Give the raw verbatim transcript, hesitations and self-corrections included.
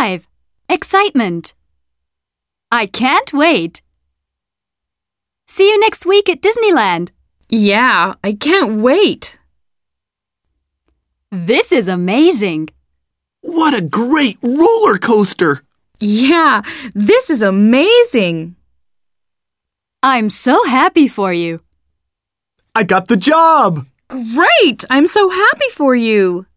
five. Excitement. I can't wait. See you next week at Disneyland. Yeah, I can't wait. This is amazing. What a great roller coaster! Yeah, this is amazing. I'm so happy for you. I got the job! Great! I'm so happy for you.